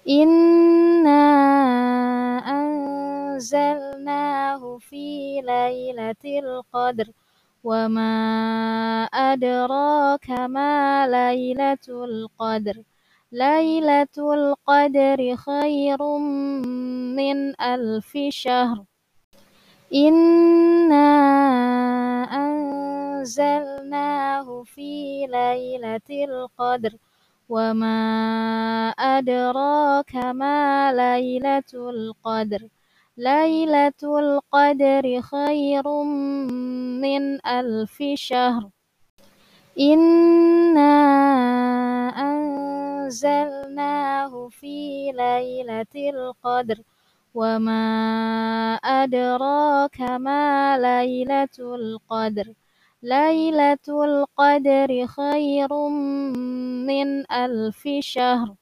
إنا أنزلناه في ليلة القدر وما أدراك ما ليلة القدر ليلة القدر خير من 1000 شهر إنا أنزلناه في ليلة القدر وما أدراك ما ليلة القدر ليلة القدر خير من 1000 شهر إنا أنزلناه في ليلة القدر وما أدراك ما ليلة القدر ليلة القدر خير من 1000 شهر